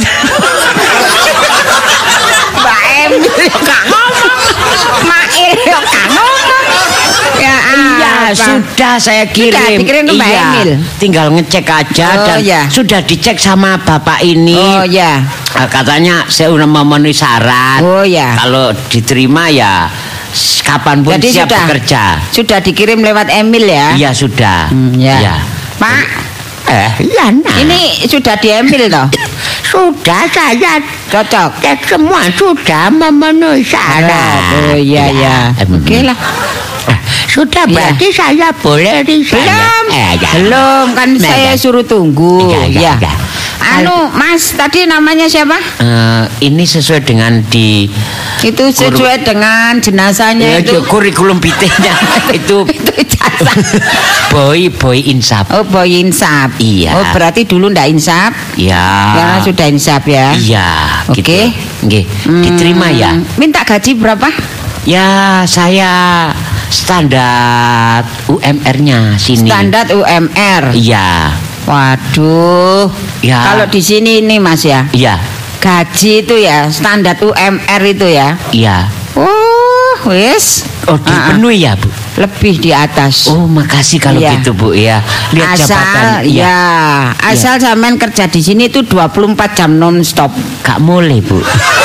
Mbak Emil yo gak ngomong. Mail yo gak ngomong. Ya, Iya, apa? sudah saya kirim. Sudah dikirim ke Mbak Iya, Emil. tinggal ngecek aja Oh, dan iya. sudah dicek sama bapak ini. Oh ya. Eh, katanya saya udah memenuhi syarat. Oh ya. Kalau diterima ya s- kapanpun Jadi siap sudah bekerja. Sudah dikirim lewat Emil ya? Iya sudah. Hmm, ya. Iya. Pak, Eh, iya nah. ini sudah di Emil toh? Sudah saya Cocok. cek semua sudah memenuhi syarat. Oh iya ya. em, Oke lah. eh, Sudah Iya. berarti saya boleh resign. Belum. Eh, ya. Belum kan Nah, saya ya. suruh tunggu. Iya, iya, ya. iya. Anu, Mas, tadi namanya siapa? Eh, ini sesuai dengan di Itu sesuai dengan jenazahnya ya, itu. kurikulum vitae-nya itu Itu ijazah. boy boy insaf. Oh, boy insaf. Iya. Oh, berarti dulu ndak insaf. Ya. Sekarang sudah insaf ya. Iya, Oke. gitu. nggih. Hmm. Diterima ya. Minta gaji berapa? Ya, saya standar U M R-nya sini. Standar U M R. Iya. Waduh. Ya. Kalau di sini ini Mas ya. Iya. Gaji itu ya standar U M R itu ya. Iya. Oh, wis. Oh, dipenuhi ya, Bu? Lebih di atas. Oh, makasih kalau Iya. gitu, Bu ya. Lihat asal jabatan. ya, asal sampean kerja di sini itu dua puluh empat jam non stop. Gak boleh, Bu.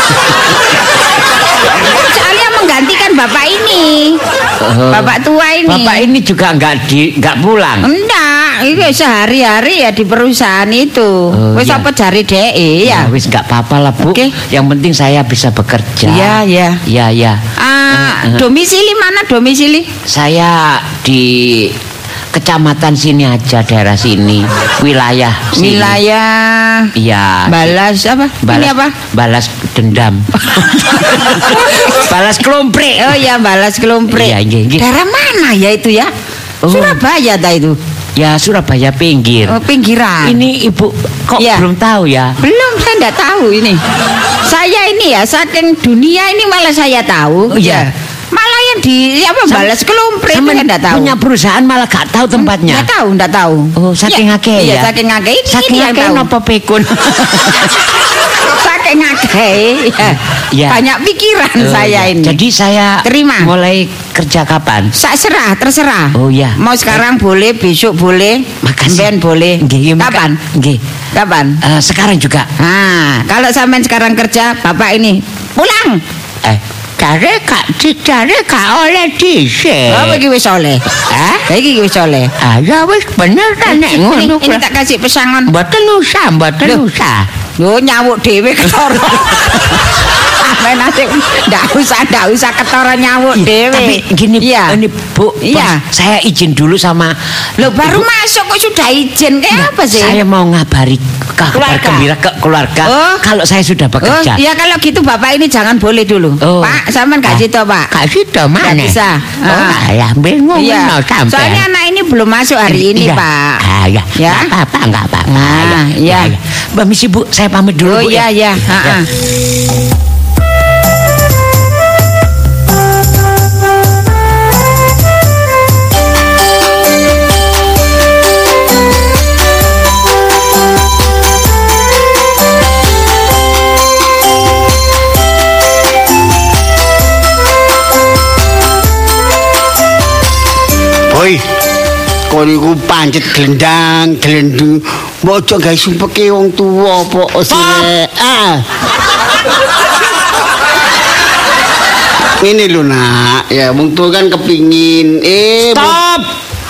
Soalnya menggantikan bapak ini. Oh. Bapak tua ini. Bapak ini juga nggak di nggak pulang. Enggak, ini sehari-hari ya di perusahaan itu. Oh, Wis iya. apa jari D E ya? Ya, wis nggak apa-apa lah, Bu. Oke. Yang penting saya bisa bekerja. Iya, iya. Iya, iya. Ah, Eh, eh. domisili mana domisili? Saya di kecamatan sini aja, daerah sini, wilayah sini. Wilayah Iya. balas apa? Balas, Ini apa? Balas dendam. Balas kelomprik. Oh ya, balas kelomprik. Iya, iya, iya. Daerah mana ya itu ya? Oh. Surabaya dah itu. Ya, Surabaya pinggir. Oh, pinggiran. Ini Ibu kok Iya. belum tahu ya? Belum, saya enggak tahu ini. Saya ini ya saking dunia ini malah saya tahu. Oh, iya. Malah yang di apa Sam- balas kelomprik itu Sama saya enggak tahu. punya perusahaan malah gak tahu tempatnya. Enggak tahu, enggak tahu. Oh, saking Ya, akeh iya, ya. saking akeh. Ini, Saking ini yang akeh tahu. napa pikun. Saking akeh. Ya. Ya. Banyak pikiran Oh, saya ya. ini. Jadi saya Terima. mulai kerja kapan? Sak serah, terserah. Oh, iya. Mau sekarang boleh, besok boleh, Makasih. ben boleh. Nggih, maka- Kapan? Nggih. Kapan? Eh, sekarang juga. Nah, kalau sampean sekarang kerja, bapak ini pulang. Eh, cari kak, cari kak oleh dhisik. Oh, iki wis oleh. Hah? Iki wis oleh. Ah, ya wis bener ta nek Ini, ngono. ini tak kasih pesangon. Mboten usah, mboten Loh. usah. Yo nyawuk dhewe ketara. Sampeyan nanti ndak usah ndak usah ketara nyawuk dhewe. Tapi gini, iya. ini Bu, Iya. Bos, saya izin dulu sama Loh, baru Ibu. masuk kok sudah izin kayak apa sih? Saya mau ngabari kabar Keluarga. gembira ke keluarga Oh. kalau saya sudah Oh, bekerja. iya kalau gitu bapak ini jangan boleh dulu. Oh. Pak, sampean gak Ah, situ, Pak. Gak situ mana? Nggak bisa. Oh, Ah. alah, bingung Iya. no, sampai. Soalnya anak ini belum masuk hari ini, Iya. Pak. Ah, ya. Ya. Nggak apa-apa, enggak apa-apa. Nah, iya. Mbak Misi, Bu, saya pamit dulu, Oh Bu. iya ya. iya, heeh. Boy, kon iku pancet glendang, glendung. Mbok aja gawe sumpeke wong tuwa apa sire. Ah. Ini lho nak, ya wong tuwa kan kepingin eh Stop.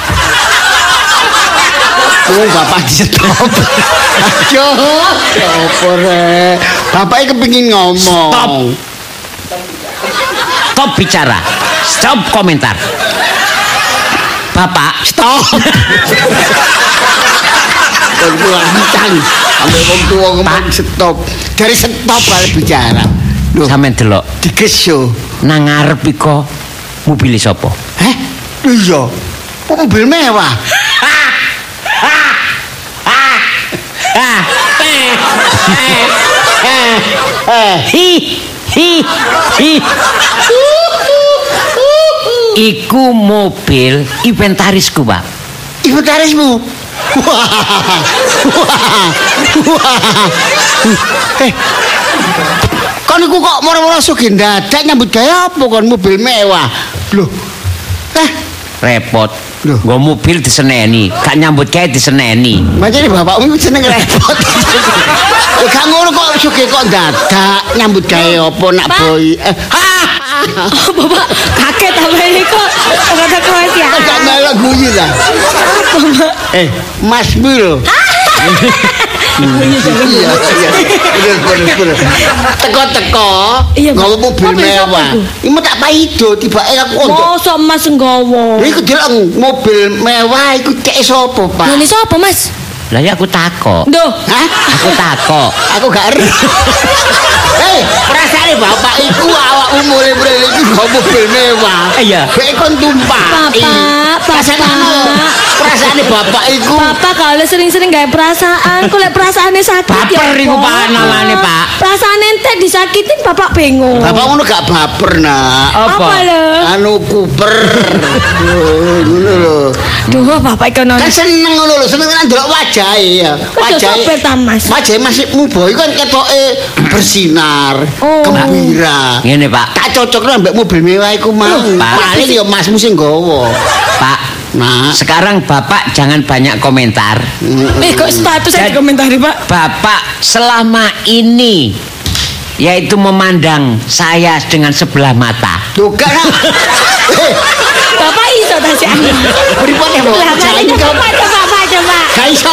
wong bapak di stop. Aduh, apa rek? Bapaknya kepingin ngomong. Stop. Stop bicara. Stop komentar. Bapak, Stop. Wong tua lancang, sampai wong tua ngomong stop. Dari stop balik bicara. Loh, sampean delok digeso. nang ngarep iko mobil sapa? Heh? Iya. Kok mobil mewah? Hi hi hi. Iku mobil inventarisku, Pak. Inventarismu. Wah. Wah. Wah. Eh. Kon iku kok moro-moro sugih dadak nyambut gawe apa kon mobil mewah? Loh. Eh, Repot. Loh. Nggo mobil diseneni, gak nyambut gawe diseneni. macane bapakmu seneng repot. Eh, gak ngono kok sugih kok dadak nyambut gawe apa nak Pak. boy. Eh, ha. Oh, Bapak kaget apa ini kok rada kewasiaan. Kok melok guyu lah. Eh, Mas lho. Iya, iya. Bener, bener, bener. Teko-teko Iya, Pak. nggawa mobil Mobil siapa mewah. iku? Iki mah tak paido tibake aku untuk. Mosok Mas nggawa. Iku delok mobil mewah iku cek sapa, Pak? Lha sapa, Mas? Lah ya aku takok. Duh, Hah? Aku takok. Aku gak ero. Hei, perasaane bapak iku awakmu mulai mrene iki nggo mobil mewah. Iya. Kayak kon tumpah. Bapak, Bapak. Perasaane bapak iku. Bapak kalau sering-sering gak perasaan, kok lek perasaannya sakit Baper iku, Pak, namanya, Pak. Perasaan ente disakitin bapak bingung. Bapak ngono gak baper, Nak. Apa? Apa lho? Anu kuper. Ngono lho. Duh, bapak iku Kan seneng ngono lho, seneng kan delok wajahe ya. Wajahe sopir ta, Mas? Wajahe masih mubo iku kan ketoke bersinar, Oh. gembira. Ngene, Pak. Tak cocokno ambek mobil mewah iku mau. Pak. Paling ya masmu sing nggawa. Pak, Nah, sekarang Bapak jangan banyak komentar. Eh, kok status saya Dan- dikomentari, Pak? Bapak selama ini yaitu memandang saya dengan sebelah mata. tuh kan. Eh, Bapak iso ta sih? pripun ya, Bapak? Lah, makanya coba coba Pak, coba. Gak iso.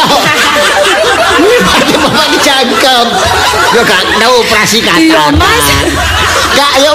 Pripun Bapak dicangkem. Yo gak tau operasi kata. Iya, Mas. Gak yo.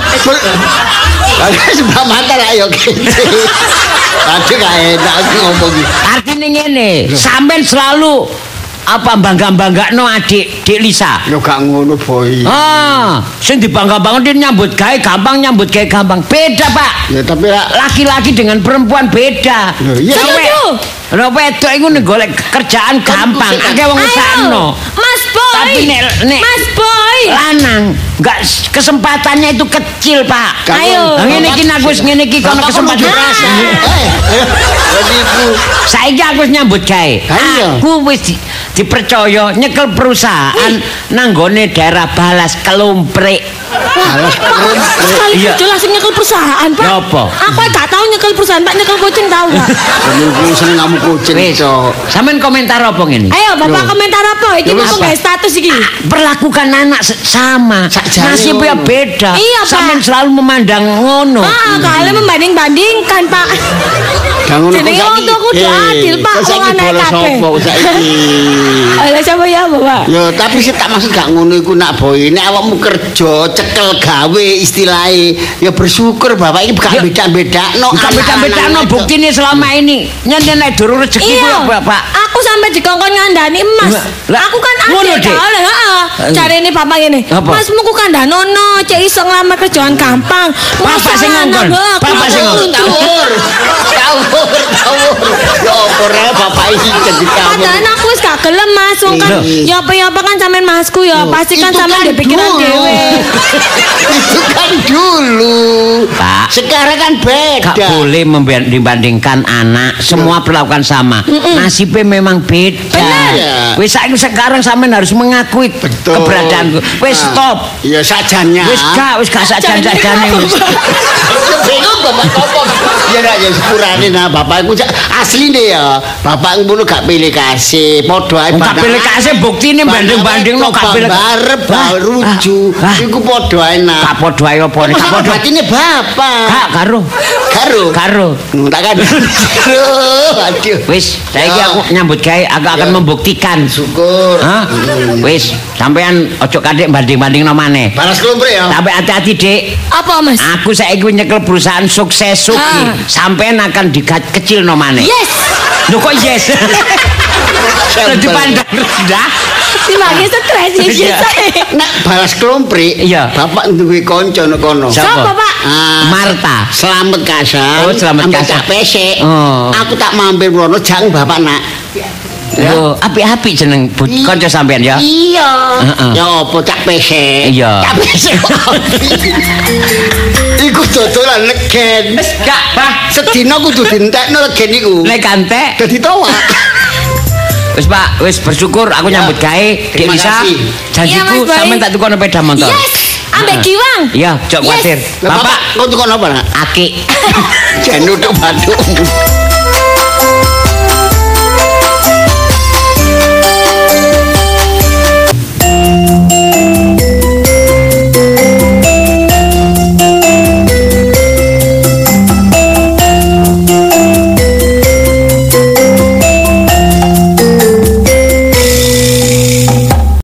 Bagus sebelah mata lah yo kece. Aduh gak enak aku ngomong iki. Artinya ngene, sampean selalu apa bangga-banggakno adik Dik Lisa. Yo gak ngono, Boy. Ah, sing dibangga-bangga dia nyambut gawe gampang, nyambut gawe gampang. Beda, Pak. Ya tapi lah Laki-laki dengan perempuan beda. Loh, iya. Lho, we- Setuju. lho, wedok iku nek golek kerjaan gampang, akeh wong Ayo, usahno. Mas Boy. Tapi nek- nek- Mas Boy. Lanang enggak kesempatannya itu kecil, Pak. Kamu- Ayo. Lah ngene iki nek wis ngene iki kono Bapak kesempatan kudu- rasa. Eh, jadi iku. Saiki aku wis nyambut gawe. Ayo. Aku wis di- dipercaya nyekel perusahaan nanggone daerah Balas Kelumprik. Alas Sekali Iya. jelas nyekel perusahaan, Pak. Ya apa? Aku gak tahu nyekel perusahaan, Pak. Nyekel kucing tahu, Pak. Aku seneng kamu kucing, Wis. Cok. Sampeyan komentar apa ngene? Ayo, Bapak Loh. komentar apa? Iki Loh, mau apa? gawe status iki. Perlakukan anak se- sama. Sakjane Nasibnya ngono. beda. Iya, Pak. Sampeyan selalu memandang ngono. Ah, kalian membanding-bandingkan, Pak. Gak ngono Jenenge kok wong saiki. tuku kudu Eh, adil, Pak. kok saiki Wong anak bolos kabeh. sapa saiki? Alah siapa ya, Bapak? Ya tapi sih tak maksud gak ngono iku nak boy. Nek awakmu kerja cekel gawe istilahnya ya bersyukur bapak ini gak Ya. beda-bedakno. Bukan beda-bedano buktine selama ini. Nyen nek durung rezeki ku ya, Iya, Bapak. aku sampai dikongkon ngandani emas. Lah, Aku kan ngono, adek Dik? tau lah, heeh. Carane bapak ngene. Apa? Masmu ku kandhanono, cek iso nglamar kerjaan gampang. Bapak sing ngongkon. Bapak sing ngongkon. Tawur. Tawur, tawur. Ya apa rek bapak iki jadi kamu. Padahal aku wis gak gelem Mas, wong kan Iya. ya apa ya apa kan sampean masku ya, pasti kan Itu sampean kan di pikiran dulu. dhewe. Itu kan dulu. Pak. Sekarang kan beda. Gak boleh memban- dibandingkan anak. Semua perlakukan sama. Nasibnya memang beda. Benar. Wis saiki sekarang sampean harus mengakui Betul. keberadaanku. Wis Nah, stop. Ya sajanya. Wis gak, wis gak sajan-sajane wis. Bingung bapak ngomong. Ya nak ya sepurane nah bapakku asli deh ya. Bapak ngono gak pilih kasih, padha ae. Gak pilih kasih, buktine banding-bandingno gak pilih- Barep ruju. Ah, ah. Iku padha ae nah. Gak padha ae apa nek gak Sama padha. batine bapak. Gak karo. Karo. Karo. Hmm, tak kan. Aduh, aduh. Wis, saiki Ya. aku nyambut gawe, aku akan Ya. membuktikan. Syukur. Hah? Wis, sampean ojo kadek banding-bandingno maneh. Balas kelompok ya. Tapi hati-hati, Dik. Apa Mas? Aku saiki nyekel perusahaan sukses Suki. Ah. Sampean akan dikecil no maneh. Yes. Lho kok yes? Dadi pandang rendah. Dimagi stres iki. Iya. Nak balas kelomprik. Iya. Bapak duwe kanca nek kono. Siapa? Siapa, Pak? Ah, Marta. Selamat Kasan. Oh, Selamat Ambek Kasan. tak pesek. Oh. Aku tak mampir mrono jang bapak nak. Lho, apik-apik jeneng bu- I- kanca sampean ya. Iya. Heeh. Ya apa cak pesek. Iya. Cak pesek. Iku dodolan legen. Wis gak, Pak. Sedina kudu dientekno legen iku. Lek kantek. Dadi towak. Wis Pak, wis bersyukur aku Ya. nyambut gawe. Dik Terima Lisa, kasih. Iya, janjiku Mas Boy. sampean tak tukono sepeda motor. Yes. Ambek Heeh. Giwang. Iya, jok Yes. kuwatir. Lah, Bapak, kau tukang apa nak? aki. Jan untuk batukmu.